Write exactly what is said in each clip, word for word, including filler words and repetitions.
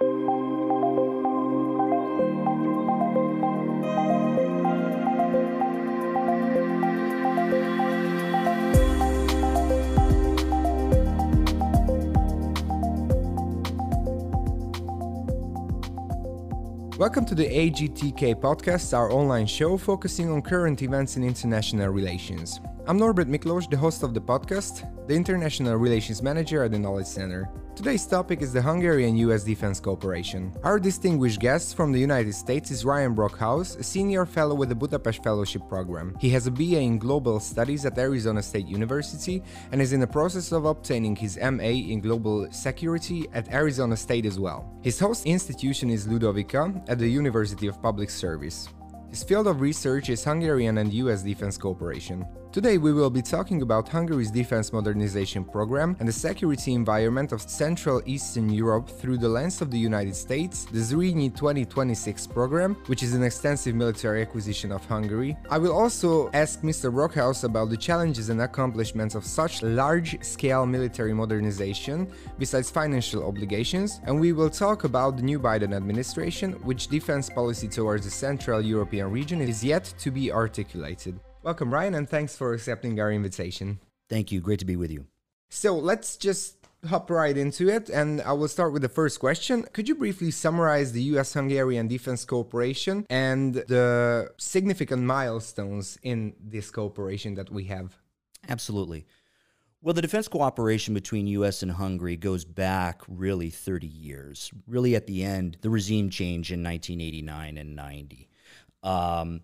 Welcome to the A G T K podcast, our online show focusing on current events in international relations. I'm Norbert Miklos, the host of the podcast, the International Relations Manager at the Knowledge Center. Today's topic is the Hungary-U S defense cooperation. Our distinguished guest from the United States is Ryan Brockhaus, a senior fellow with the Budapest Fellowship Program. He has a B A in Global Studies at Arizona State University and is in the process of obtaining his M A in Global Security at Arizona State as well. His host institution is Ludovica at the University of Public Service. His field of research is Hungarian and U S defense cooperation. Today we will be talking about Hungary's defense modernization program and the security environment of Central Eastern Europe through the lens of the United States, the Zrínyi twenty twenty-six program, which is an extensive military acquisition of Hungary. I will also ask Mister Brockhaus about the challenges and accomplishments of such large-scale military modernization, besides financial obligations, and we will talk about the new Biden administration, which defense policy towards the Central European region is yet to be articulated. Welcome, Ryan, and thanks for accepting our invitation. Thank you. Great to be with you. So let's just hop right into it, and I will start with the first question. Could you briefly summarize the U S-Hungarian defense cooperation and the significant milestones in this cooperation that we have? Absolutely. Well, the defense cooperation between U S and Hungary goes back really thirty years. Really at the end, the regime change in nineteen eighty-nine and ninety. Um,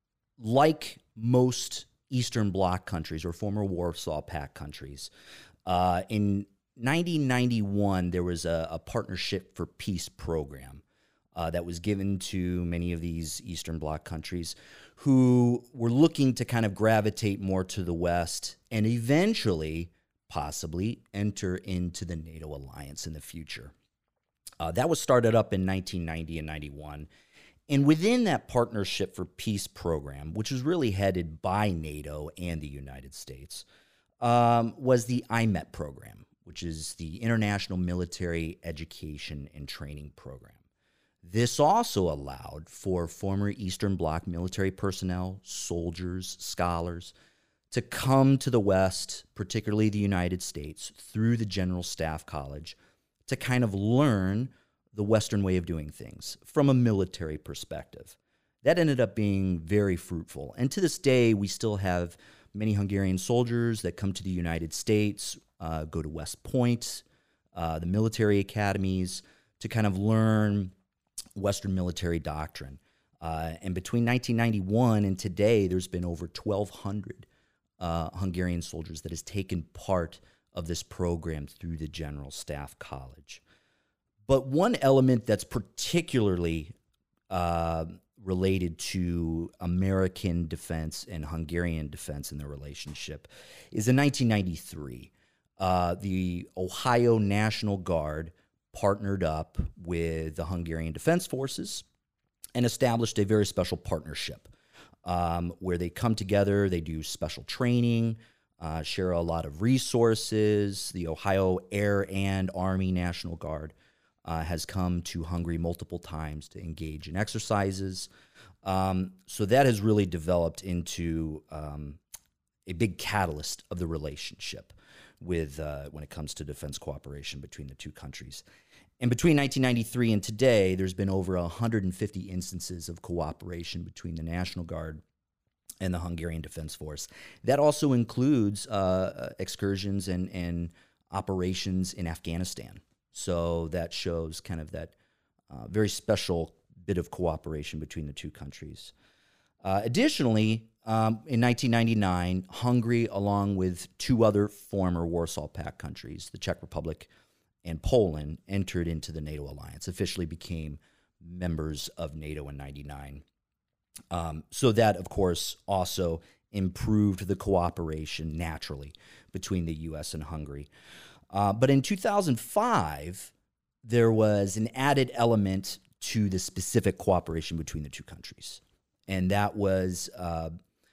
like most Eastern Bloc countries or former Warsaw Pact countries, uh, in nineteen ninety-one, there was a, a Partnership for Peace program uh, that was given to many of these Eastern Bloc countries who were looking to kind of gravitate more to the West and eventually, possibly, enter into the NATO alliance in the future. Uh, that was started up in nineteen ninety and ninety-one. And within that Partnership for Peace program, which was really headed by NATO and the United States, um, was the I M E T program, which is the International Military Education and Training Program. This also allowed for former Eastern Bloc military personnel, soldiers, scholars, to come to the West, particularly the United States, through the General Staff College, to kind of learn the Western way of doing things from a military perspective. That ended up being very fruitful. And to this day, we still have many Hungarian soldiers that come to the United States, uh, go to West Point, uh, the military academies, to kind of learn Western military doctrine. Uh, and between nineteen ninety-one and today, there's been over twelve hundred uh, Hungarian soldiers that has taken part of this program through the General Staff College. But one element that's particularly uh, related to American defense and Hungarian defense in their relationship is in nineteen ninety-three. Uh, the Ohio National Guard partnered up with the Hungarian Defense Forces and established a very special partnership um, where they come together, they do special training, uh, share a lot of resources. The Ohio Air and Army National Guard Uh, has come to Hungary multiple times to engage in exercises. Um, so that has really developed into um, a big catalyst of the relationship with uh, when it comes to defense cooperation between the two countries. And between nineteen ninety-three and today, there's been over one hundred fifty instances of cooperation between the National Guard and the Hungarian Defense Force. That also includes uh, excursions and, and operations in Afghanistan. So that shows kind of that uh, very special bit of cooperation between the two countries. Uh, additionally, um, in nineteen ninety-nine, Hungary, along with two other former Warsaw Pact countries, the Czech Republic and Poland, entered into the NATO alliance, officially became members of NATO in ninety-nine. Um, so that, of course, also improved the cooperation naturally between the U S and Hungary. Uh, but in two thousand five, there was an added element to the specific cooperation between the two countries, and that was uh,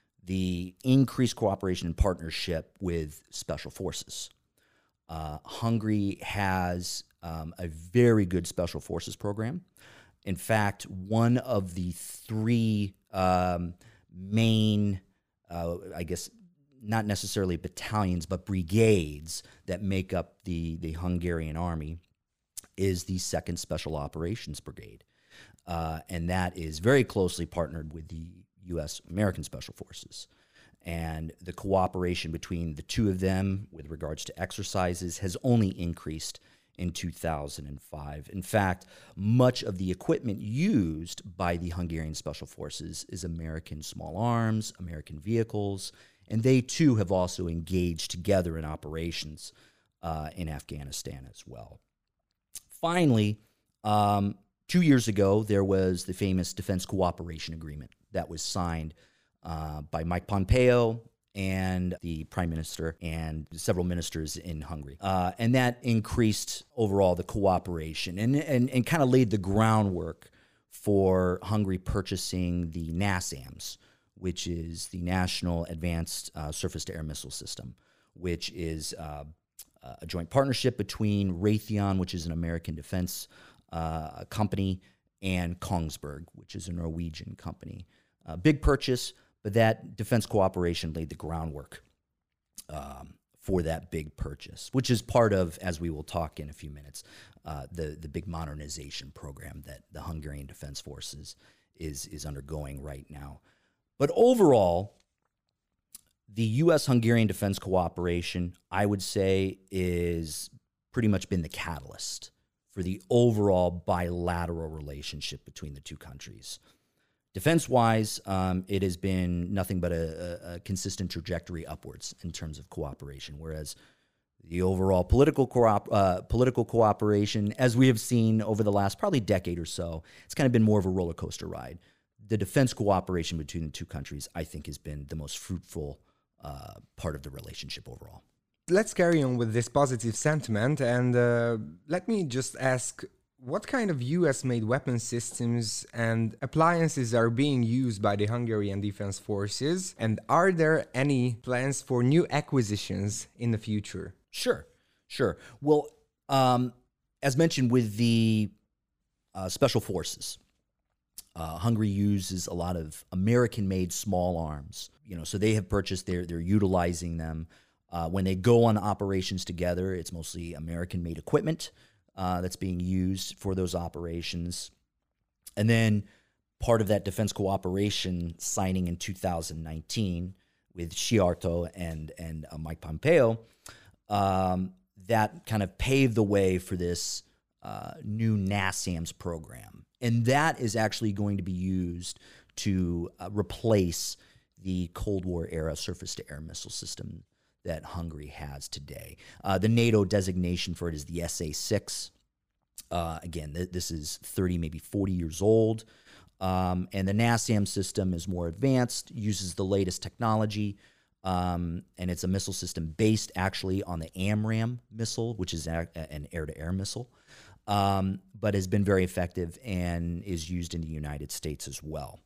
the increased cooperation and partnership with special forces. Uh, Hungary has um, a very good special forces program. In fact, one of the three um, main, uh, I guess, not necessarily battalions, but brigades that make up the, the Hungarian army is the Second Special Operations Brigade. Uh, and that is very closely partnered with the U S American Special Forces. And the cooperation between the two of them with regards to exercises has only increased in two thousand five. In fact, much of the equipment used by the Hungarian Special Forces is American small arms, American vehicles, and they too have also engaged together in operations uh, in Afghanistan as well. Finally, um, two years ago, there was the famous Defense Cooperation Agreement that was signed uh, by Mike Pompeo and the Prime Minister and several ministers in Hungary. Uh, and that increased overall the cooperation and, and, and kind of laid the groundwork for Hungary purchasing the NASAMS, which is the National Advanced uh, Surface-to-Air Missile System, which is uh, a joint partnership between Raytheon, which is an American defense uh, company, and Kongsberg, which is a Norwegian company. Uh, big purchase, but that defense cooperation laid the groundwork um, for that big purchase, which is part of, as we will talk in a few minutes, uh, the, the big modernization program that the Hungarian Defense Forces is, is undergoing right now. But overall, the U S-Hungarian defense cooperation, I would say, is pretty much been the catalyst for the overall bilateral relationship between the two countries. Defense-wise, um, it has been nothing but a, a, a consistent trajectory upwards in terms of cooperation, whereas the overall political co- uh, political cooperation, as we have seen over the last probably decade or so, it's kind of been more of a roller coaster ride. The defense cooperation between the two countries, I think, has been the most fruitful uh, part of the relationship overall. Let's carry on with this positive sentiment, and uh, let me just ask, what kind of U S-made weapon systems and appliances are being used by the Hungarian Defense Forces, and are there any plans for new acquisitions in the future? Sure, sure. Well, um, as mentioned with the uh, Special Forces, uh, Hungary uses a lot of American-made small arms. You know, so they have purchased, they're, they're utilizing them. Uh, when they go on operations together, it's mostly American-made equipment uh, that's being used for those operations. And then part of that defense cooperation signing in two thousand nineteen with Szijjártó and, and uh, Mike Pompeo, um, that kind of paved the way for this uh, new NASAMS program. And that is actually going to be used to uh, replace the Cold War era surface-to-air missile system that Hungary has today. Uh, the NATO designation for it is the S A six. Uh, again, th- this is thirty, maybe forty years old. Um, and the NASAMS system is more advanced, uses the latest technology, um, and it's a missile system based actually on the AMRAAM missile, which is a- an air-to-air missile, um, but has been very effective and is used in the United States as well.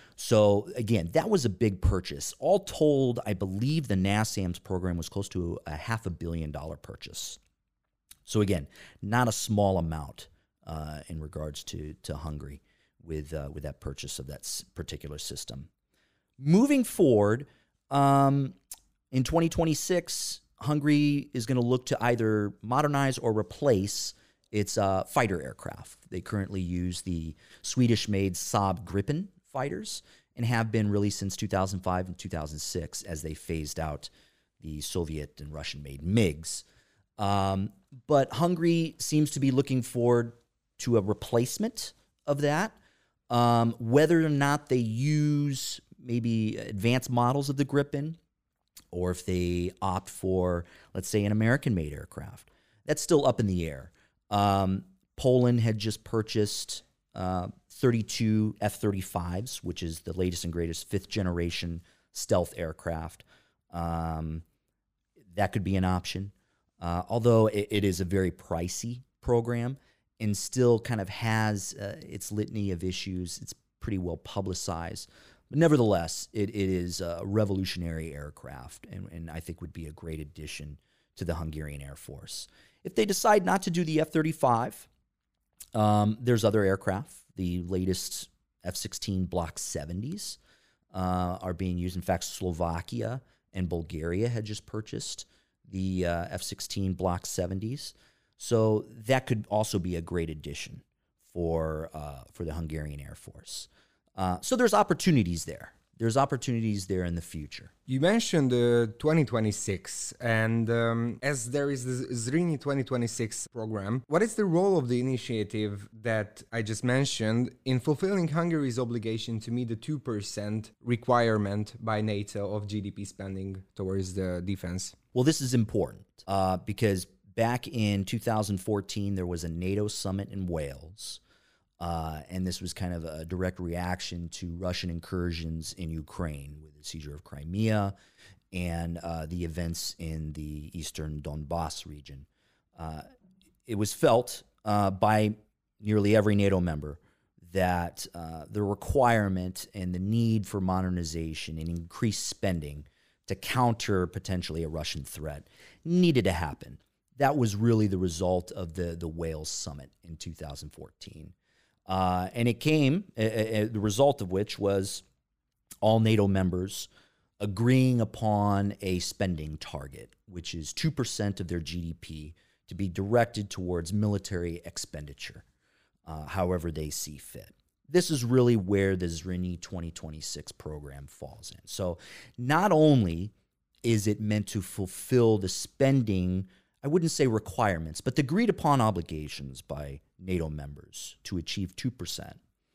So again, that was a big purchase. All told, I believe the NASAMS program was close to a half a billion dollar purchase. So again, not a small amount uh, in regards to, to Hungary with, uh, with that purchase of that s- particular system. Moving forward, um, in twenty twenty-six, Hungary is going to look to either modernize or replace its uh, fighter aircraft. They currently use the Swedish-made Saab Gripen fighters and have been really since two thousand five and two thousand six as they phased out the Soviet and Russian-made MiGs. Um, but Hungary seems to be looking forward to a replacement of that. Um, whether or not they use maybe advanced models of the Gripen or if they opt for, let's say, an American-made aircraft, that's still up in the air. Um, Poland had just purchased uh, thirty-two F thirty-fives, which is the latest and greatest fifth-generation stealth aircraft. Um, that could be an option, uh, although it, it is a very pricey program and still kind of has uh, its litany of issues. It's pretty well publicized. But nevertheless, it, it is a revolutionary aircraft and, and I think would be a great addition to the Hungarian Air Force. If they decide not to do the F thirty-five, um, there's other aircraft. The latest F sixteen Block seventies uh, are being used. In fact, Slovakia and Bulgaria had just purchased the uh, F sixteen Block seventies. So that could also be a great addition for uh, for the Hungarian Air Force. Uh, so there's opportunities there. There's opportunities there in the future. You mentioned uh, twenty twenty-six, and um, as there is the Zrini twenty twenty-six program, what is the role of the initiative that I just mentioned in fulfilling Hungary's obligation to meet the two percent requirement by NATO of G D P spending towards the defense? Well, this is important uh, because back in two thousand fourteen, there was a NATO summit in Wales. Uh, and this was kind of a direct reaction to Russian incursions in Ukraine with the seizure of Crimea and uh, the events in the eastern Donbass region. Uh, it was felt uh, by nearly every NATO member that uh, the requirement and the need for modernization and increased spending to counter potentially a Russian threat needed to happen. That was really the result of the, the Wales summit in two thousand fourteen. Uh, and it came, uh, uh, the result of which was all NATO members agreeing upon a spending target, which is two percent of their G D P to be directed towards military expenditure, uh, however they see fit. This is really where the Zrini twenty twenty-six program falls in. So not only is it meant to fulfill the spending, I wouldn't say requirements, but the agreed upon obligations by NATO members to achieve two percent,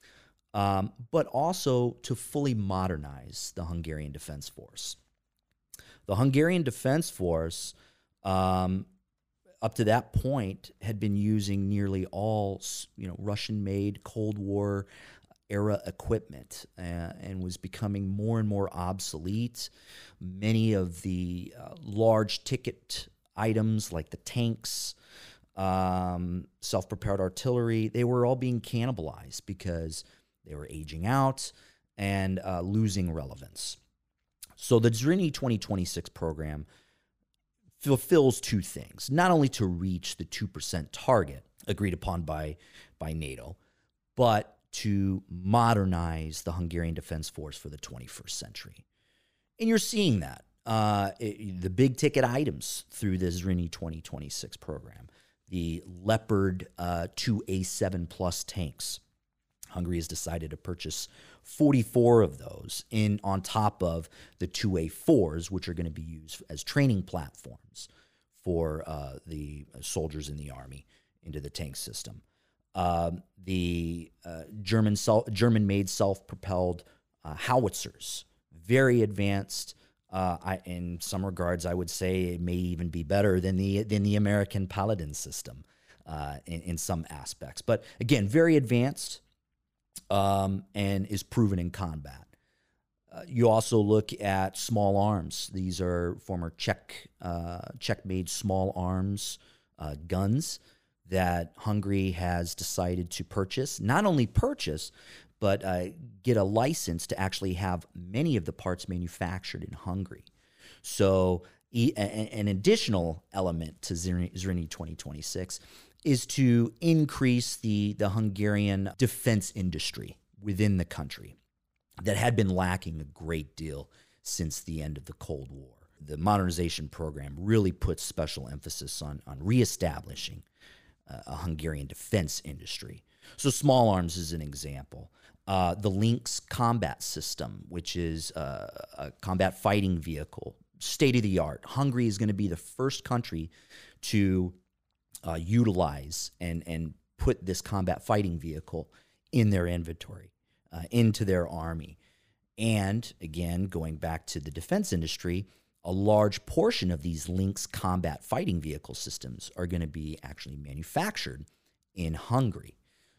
um, but also to fully modernize the Hungarian Defense Force. The Hungarian Defense Force, um, up to that point, had been using nearly all, you know, Russian-made Cold War era equipment uh, and was becoming more and more obsolete. Many of the uh, large ticket items like the tanks, um, self-propelled artillery, they were all being cannibalized because they were aging out and uh, losing relevance. So the Zrini twenty twenty-six program fulfills two things, not only to reach the two percent target agreed upon by, by NATO, but to modernize the Hungarian Defense Force for the twenty-first century. And you're seeing that. Uh, it, the big ticket items through the Zrini twenty twenty-six program, the Leopard uh, two A seven plus tanks. Hungary has decided to purchase forty-four of those in on top of the two A fours, which are going to be used as training platforms for uh, the soldiers in the army into the tank system. Uh, the uh, German self, German-made self-propelled uh, howitzers, very advanced. Uh, I, in some regards, I would say it may even be better than the than the American Paladin system uh, in, in some aspects. But again, very advanced um, and is proven in combat. Uh, you also look at small arms. These are former Czech uh, Czech-made small arms uh, guns that Hungary has decided to purchase. Not only purchase, but uh, get a license to actually have many of the parts manufactured in Hungary. So e- a- an additional element to Zrini twenty twenty-six is to increase the, the Hungarian defense industry within the country that had been lacking a great deal since the end of the Cold War. The modernization program really puts special emphasis on, on reestablishing uh, a Hungarian defense industry. So small arms is an example. Uh, the Lynx combat system, which is uh, a combat fighting vehicle, state-of-the-art. Hungary is going to be the first country to uh, utilize and, and put this combat fighting vehicle in their inventory, uh, into their army. And again, going back to the defense industry, a large portion of these Lynx combat fighting vehicle systems are going to be actually manufactured in Hungary.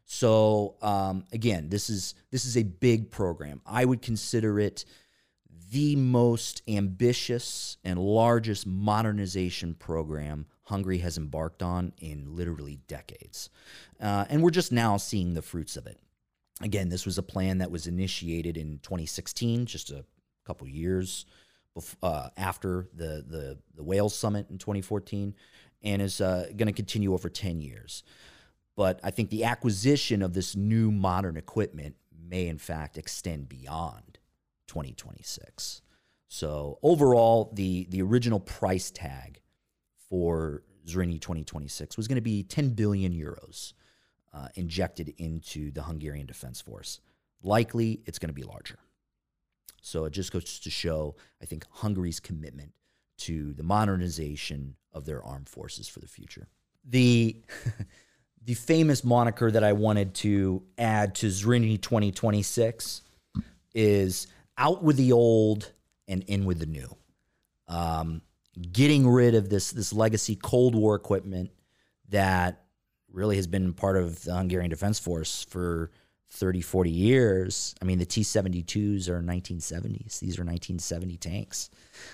So um, again, this is this is a big program. I would consider it the most ambitious and largest modernization program Hungary has embarked on in literally decades. Uh, and we're just now seeing the fruits of it. Again, this was a plan that was initiated in twenty sixteen, just a couple years before, uh, after the, the, the Wales summit in twenty fourteen. and is uh, going to continue over ten years. But I think the acquisition of this new modern equipment may, in fact, extend beyond twenty twenty-six. So overall, the, the original price tag for Zrínyi twenty twenty-six was going to be ten billion euros uh, injected into the Hungarian Defense Force. Likely, it's going to be larger. So it just goes to show, I think, Hungary's commitment to the modernization of their armed forces for the future. The, the famous moniker that I wanted to add to Zrínyi twenty twenty-six is out with the old and in with the new. Um, getting rid of this, this legacy Cold War equipment that really has been part of the Hungarian Defense Force for thirty, forty years. I mean, the T seventy-twos are nineteen seventies. These are nineteen seventy tanks.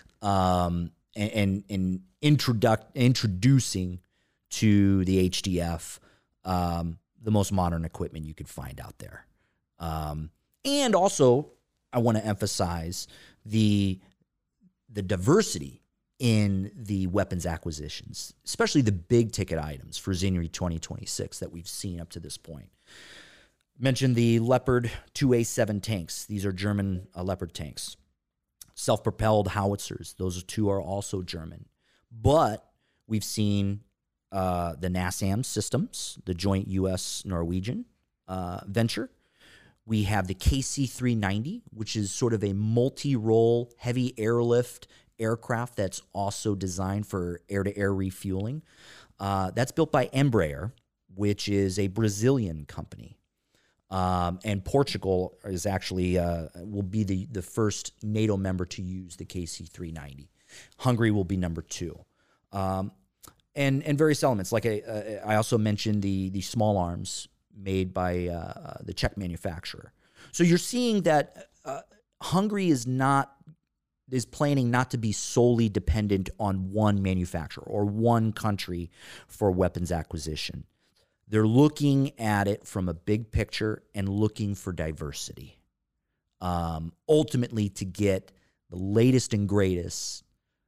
Um, and and, and introduc- introducing to the H D F um, the most modern equipment you could find out there. Um, and also, I want to emphasize the the diversity in the weapons acquisitions, especially the big ticket items for Zrínyi twenty twenty-six that we've seen up to this point. Mentioned the Leopard two A seven tanks. These are German uh, Leopard tanks. Self-propelled howitzers. Those two are also German. But we've seen uh, the NASAMS systems, the joint U S Norwegian uh, venture. We have the K C three ninety, which is sort of a multi-role heavy airlift aircraft that's also designed for air-to-air refueling. Uh, that's built by Embraer, which is a Brazilian company. Um, and Portugal is actually uh, will be the, the first NATO member to use the K C three ninety. Hungary will be number two. Um, and and various elements. Like I, uh, I also mentioned the the small arms made by uh, the Czech manufacturer. So you're seeing that uh, Hungary is not is planning not to be solely dependent on one manufacturer or one country for weapons acquisition. They're looking at it from a big picture and looking for diversity, um, ultimately to get the latest and greatest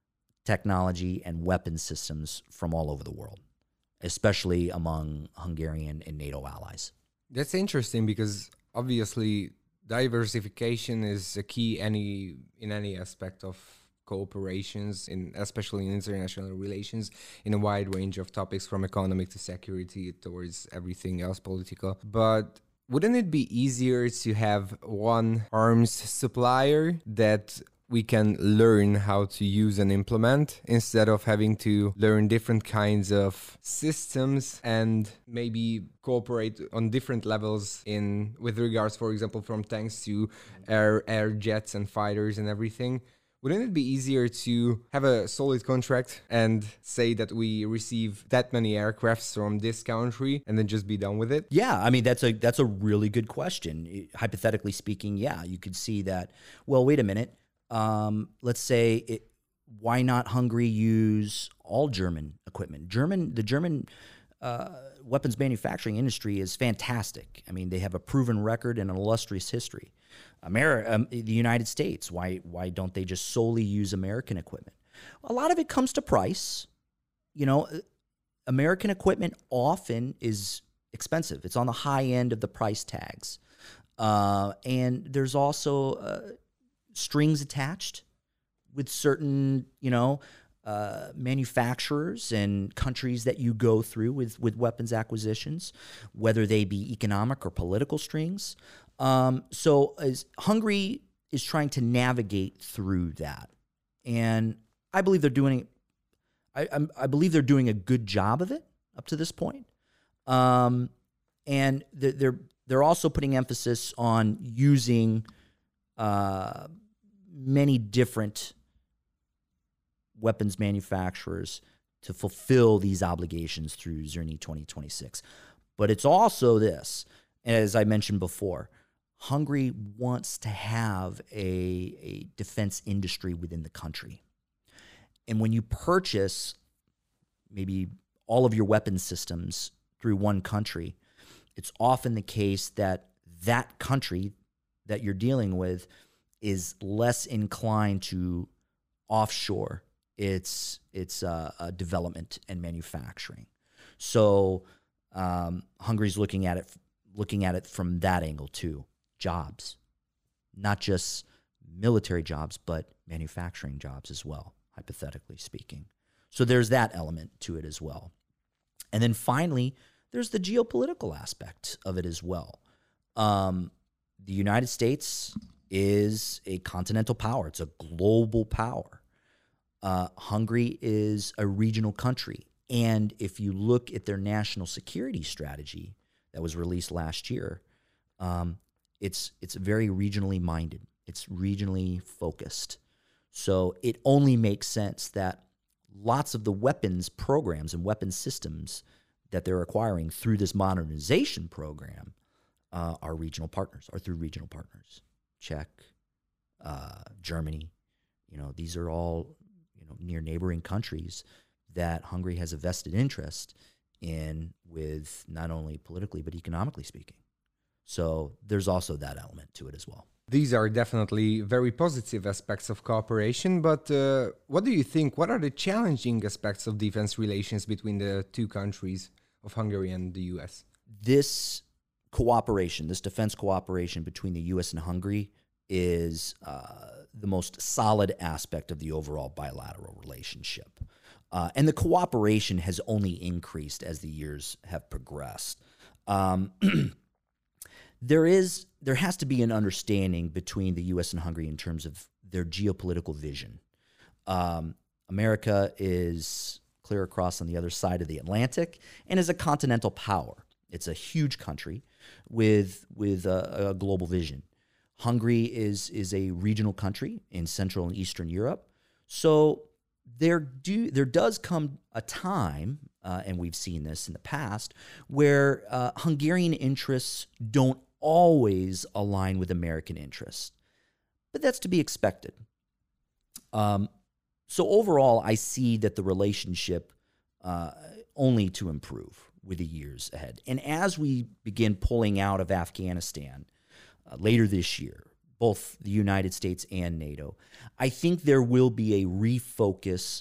technology and weapon systems from all over the world, especially among Hungarian and NATO allies. That's interesting because obviously diversification is a key any in any aspect of cooperations, in especially in international relations, in a wide range of topics from economic to security towards everything else political. But wouldn't it be easier to have one arms supplier that we can learn how to use and implement instead of having to learn different kinds of systems and maybe cooperate on different levels in with regards, for example, from tanks to air air jets and fighters and everything? Wouldn't it be easier to have a solid contract and say that we receive that many aircrafts from this country and then just be done with it? Yeah, I mean, that's a that's a really good question. Hypothetically speaking, yeah, you could see that, well, wait a minute. Um, let's say, it, why not Hungary use all German equipment? German, the German uh, weapons manufacturing industry is fantastic. I mean, they have a proven record and an illustrious history. America, um, the United States, why why don't they just solely use American equipment? A lot of it comes to price. You know, American equipment often is expensive. It's on the high end of the price tags. Uh, and there's also uh, strings attached with certain, you know, uh, manufacturers and countries that you go through with, with weapons acquisitions, whether they be economic or political strings. Um, so as Hungary is trying to navigate through that, and I believe they're doing, I, I, I believe they're doing a good job of it up to this point. Um, and they're, they're they're also putting emphasis on using uh, many different weapons manufacturers to fulfill these obligations through Zrínyi twenty twenty-six. But it's also this, as I mentioned before, Hungary wants to have a, a defense industry within the country. And when you purchase maybe all of your weapon systems through one country, it's often the case that that country that you're dealing with is less inclined to offshore it's it's uh, uh, development and manufacturing. So um, Hungary's looking at it looking at it from that angle too. Jobs, not just military jobs, but manufacturing jobs as well, hypothetically speaking. So there's that element to it as well. And then finally, there's the geopolitical aspect of it as well. Um, the United States is a continental power. It's a global power. Uh, Hungary is a regional country. And if you look at their national security strategy that was released last year, um, it's it's very regionally minded. It's regionally focused. So it only makes sense that lots of the weapons programs and weapons systems that they're acquiring through this modernization program uh, are regional partners, are through regional partners. Czech, uh, Germany, you know, these are all, you know, near neighboring countries that Hungary has a vested interest in, with not only politically but economically speaking. So there's also that element to it as well. These are definitely very positive aspects of cooperation, but uh, what do you think? What are the challenging aspects of defense relations between the two countries of Hungary and the U S? This cooperation, this defense cooperation between the U S and Hungary is uh, the most solid aspect of the overall bilateral relationship. Uh, and the cooperation has only increased as the years have progressed. Um, there is, there has to be an understanding between the U S and Hungary in terms of their geopolitical vision. Um, America is clear across on the other side of the Atlantic and is a continental power. It's a huge country with with a, a global vision. Hungary is is a regional country in Central and Eastern Europe. So there do there does come a time, uh, and we've seen this in the past, where uh, Hungarian interests don't always align with American interests. But that's to be expected. Um, so overall, I see that the relationship uh, only to improve with the years ahead. And as we begin pulling out of Afghanistan uh, later this year, both the United States and NATO, I think there will be a refocus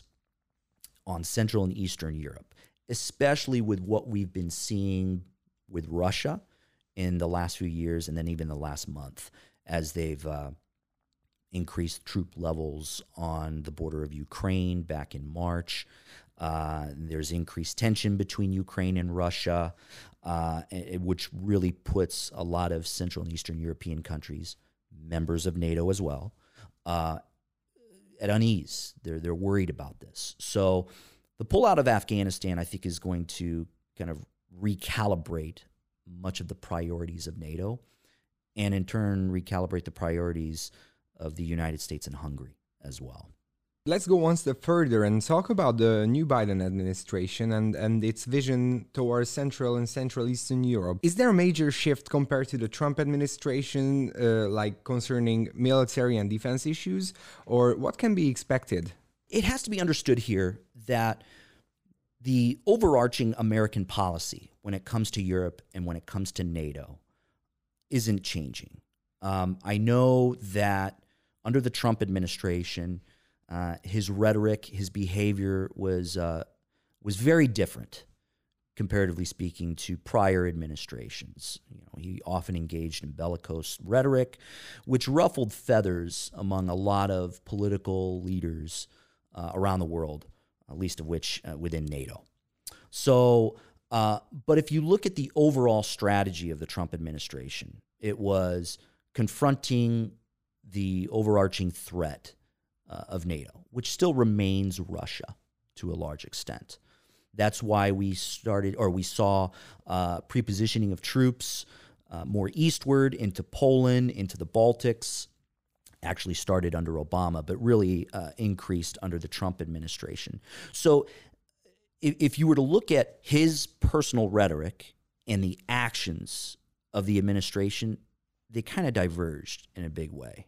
on Central and Eastern Europe, especially with what we've been seeing with Russia in the last few years and then even the last month as they've uh, increased troop levels on the border of Ukraine back in March. Uh, there's increased tension between Ukraine and Russia, uh, which really puts a lot of Central and Eastern European countries, members of NATO as well, uh, at unease. They're they're worried about this. So the pullout of Afghanistan, I think, is going to kind of recalibrate much of the priorities of NATO, and in turn recalibrate the priorities of the United States and Hungary as well. Let's go one step further and talk about the new Biden administration and, and its vision towards Central and Central Eastern Europe. Is there a major shift compared to the Trump administration, uh, like concerning military and defense issues, or what can be expected? It has to be understood here that the overarching American policy when it comes to Europe and when it comes to NATO isn't changing. Um, I know that under the Trump administration, Uh, his rhetoric, his behavior was uh, was very different, comparatively speaking, to prior administrations. You know, he often engaged in bellicose rhetoric, which ruffled feathers among a lot of political leaders uh, around the world, at least of which uh, within NATO. So, uh, but if you look at the overall strategy of the Trump administration, it was confronting the overarching threat Uh, of NATO, which still remains Russia to a large extent. That's why we started, or we saw uh, prepositioning of troops uh, more eastward into Poland, into the Baltics. Actually started under Obama, but really uh, increased under the Trump administration. So if, if you were to look at his personal rhetoric and the actions of the administration, they kind of diverged in a big way.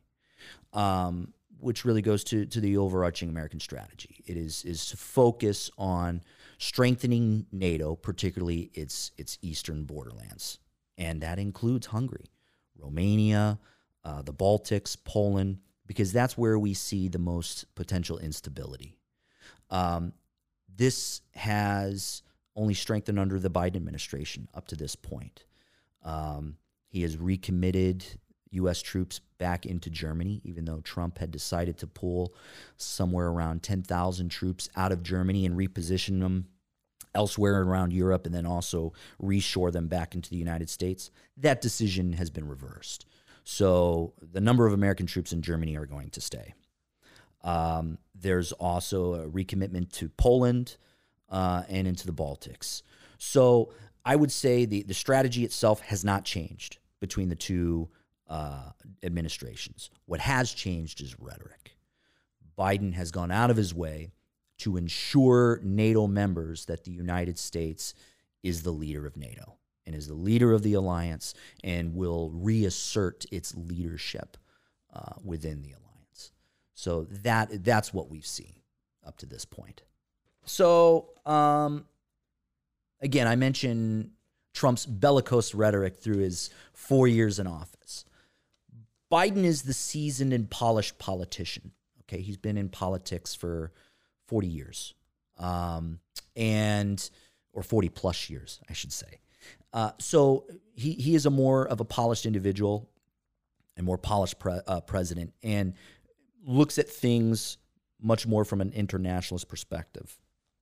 Um, which really goes to, to the overarching American strategy. It is is to focus on strengthening NATO, particularly its its eastern borderlands. And that includes Hungary, Romania, uh, the Baltics, Poland, because that's where we see the most potential instability. Um, this has only strengthened under the Biden administration up to this point. Um, he has recommitted U S troops back into Germany, even though Trump had decided to pull somewhere around ten thousand troops out of Germany and reposition them elsewhere around Europe, and then also reshore them back into the United States. That decision has been reversed. So the number of American troops in Germany are going to stay. Um, there's also a recommitment to Poland uh, and into the Baltics. So I would say the, the strategy itself has not changed between the two uh, administrations. What has changed is rhetoric. Biden has gone out of his way to ensure NATO members that the United States is the leader of NATO and is the leader of the alliance and will reassert its leadership uh, within the alliance. So that that's what we've seen up to this point. So um, again, I mentioned Trump's bellicose rhetoric through his four years in office. Biden is the seasoned and polished politician. Okay, he's been in politics for forty years, um, and or forty plus years, I should say. Uh, so he he is a more of a polished individual, and more polished pre- uh, president, and looks at things much more from an internationalist perspective.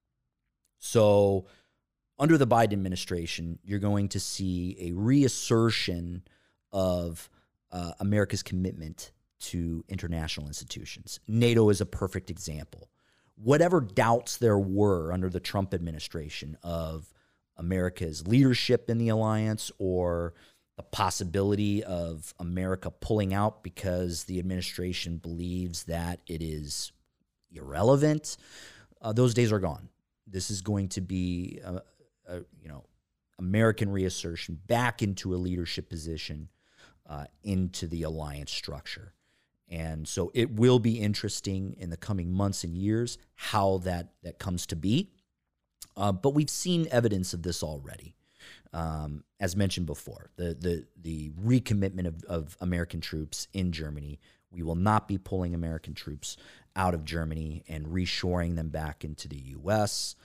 So under the Biden administration, you're going to see a reassertion of uh, America's commitment to international institutions. NATO is a perfect example. Whatever doubts there were under the Trump administration of America's leadership in the alliance or the possibility of America pulling out because the administration believes that it is irrelevant, uh, those days are gone. This is going to be, a, a, you know, American reassertion back into a leadership position uh, into the alliance structure. And so it will be interesting in the coming months and years how that, that comes to be. Uh, but we've seen evidence of this already. Um, as mentioned before, the the the recommitment of, of American troops in Germany. We will not be pulling American troops out of Germany and reshoring them back into the U S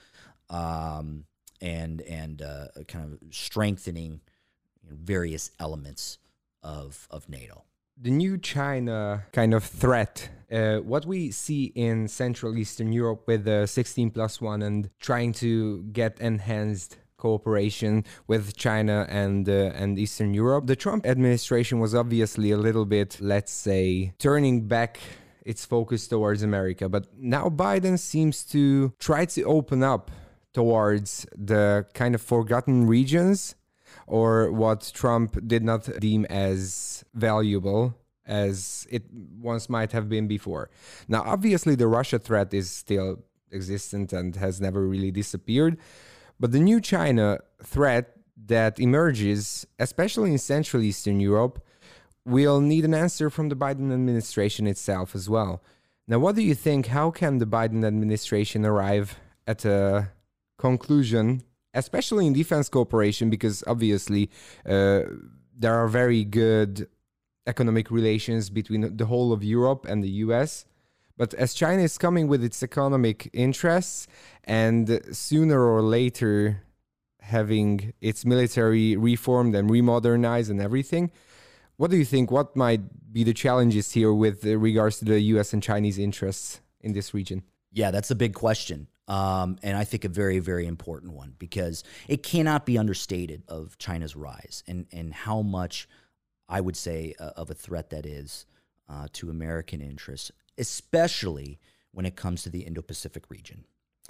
um, and and uh, kind of strengthening you know, various elements of of NATO. The new China kind of threat, uh, what we see in Central Eastern Europe with the sixteen plus one and trying to get enhanced cooperation with China and uh, and Eastern Europe. The Trump administration was obviously a little bit, let's say, turning back its focus towards America. But now Biden seems to try to open up towards the kind of forgotten regions, or what Trump did not deem as valuable as it once might have been before. Now, obviously, the Russia threat is still existent and has never really disappeared. But the new China threat that emerges, especially in Central Eastern Europe, will need an answer from the Biden administration itself as well. Now, what do you think? How can the Biden administration arrive at a conclusion, especially in defense cooperation, because obviously uh, there are very good economic relations between the whole of Europe and the U S. But as China is coming with its economic interests and sooner or later having its military reformed and remodernized and everything, what do you think? What might be the challenges here with regards to the U S and Chinese interests in this region? Yeah, that's a big question. Um, and I think a very, very important one, because it cannot be understated of China's rise and, and how much, I would say, uh, of a threat that is uh, to American interests, especially when it comes to the Indo-Pacific region.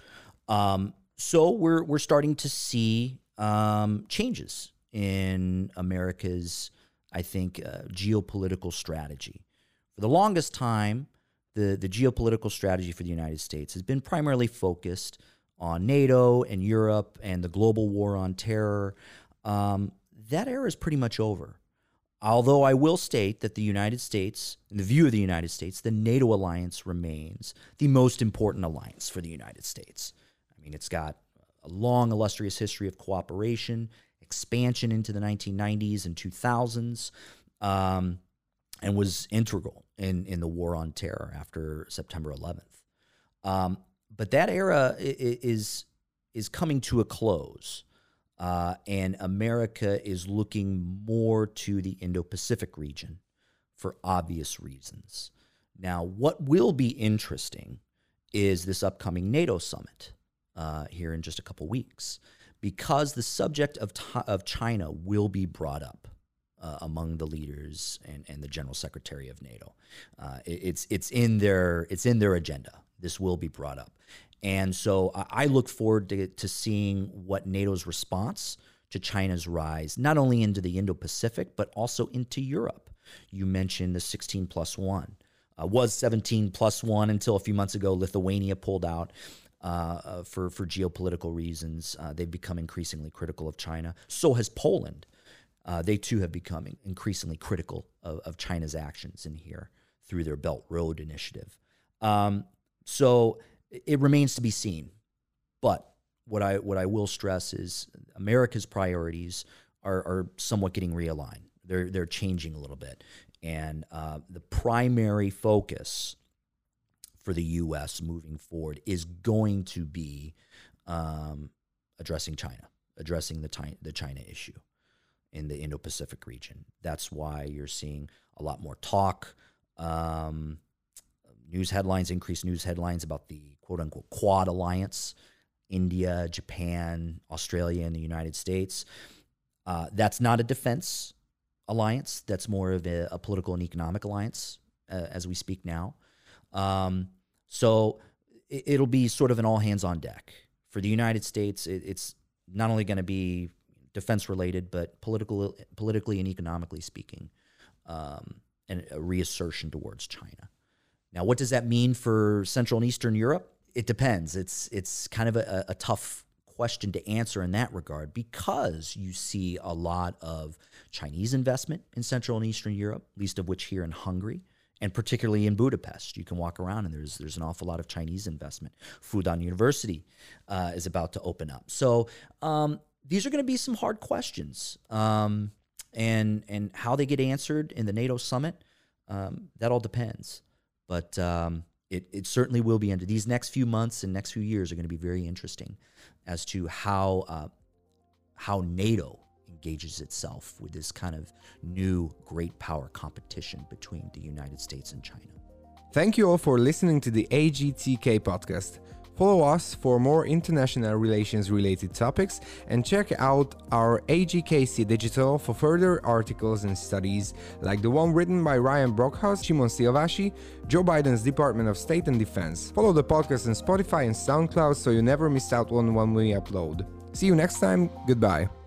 Um, so we're we're starting to see um, changes in America's, I think, uh, geopolitical strategy. For the longest time, the, the geopolitical strategy for the United States has been primarily focused on NATO and Europe and the global war on terror. Um, that era is pretty much over. Although I will state that the United States, in the view of the United States, the NATO alliance remains the most important alliance for the United States. I mean, it's got a long, illustrious history of cooperation, expansion into the nineteen nineties and two thousands, um, and was integral in, in the war on terror after September eleventh. Um, but that era is is coming to a close, uh, and America is looking more to the Indo-Pacific region for obvious reasons. Now, what will be interesting is this upcoming NATO summit uh, here in just a couple weeks, because the subject of of China will be brought up uh, among the leaders and, and the General Secretary of NATO. Uh, it, it's it's in their it's in their agenda. This will be brought up, and so I look forward to, to seeing what NATO's response to China's rise, not only into the Indo-Pacific but also into Europe. You mentioned the sixteen plus one. Uh, was seventeen plus one until a few months ago. Lithuania pulled out uh, uh, for, for geopolitical reasons. Uh, they've become increasingly critical of China. So has Poland. Uh, they too have become increasingly critical of, of China's actions in here through their Belt Road Initiative. Um, so it remains to be seen. But what I what I will stress is America's priorities are, are somewhat getting realigned. They're they're changing a little bit. And uh, the primary focus for the U S moving forward is going to be um, addressing China, addressing the, ti- the China issue in the Indo-Pacific region. That's why you're seeing a lot more talk, um, news headlines, increased news headlines about the quote-unquote Quad Alliance, India, Japan, Australia, and the United States. Uh, that's not a defense alliance. That's more of a, a political and economic alliance uh, as we speak now. Um, so it, it'll be sort of an all hands on deck. For the United States, it, it's not only going to be defense related, but political, politically and economically speaking, um, and a reassertion towards China. Now, what does that mean for Central and Eastern Europe? It depends. It's, it's kind of a, a tough question to answer in that regard, because you see a lot of Chinese investment in Central and Eastern Europe, least of which here in Hungary, and particularly in Budapest. You can walk around and there's there's an awful lot of Chinese investment. Fudan University uh, is about to open up. So um, these are going to be some hard questions, um, and and how they get answered in the NATO summit, um, that all depends. But um, It, it certainly will be. Under these next few months and next few years are going to be very interesting as to how uh, how NATO engages itself with this kind of new great power competition between the United States and China. Thank you all for listening to the A G T K podcast. Follow us for more international relations related topics and check out our A G K C Digital for further articles and studies like the one written by Ryan Brockhaus, Shimon Silvashi, Joe Biden's Department of State and Defense. Follow the podcast on Spotify and SoundCloud so you never miss out on when we upload. See you next time. Goodbye.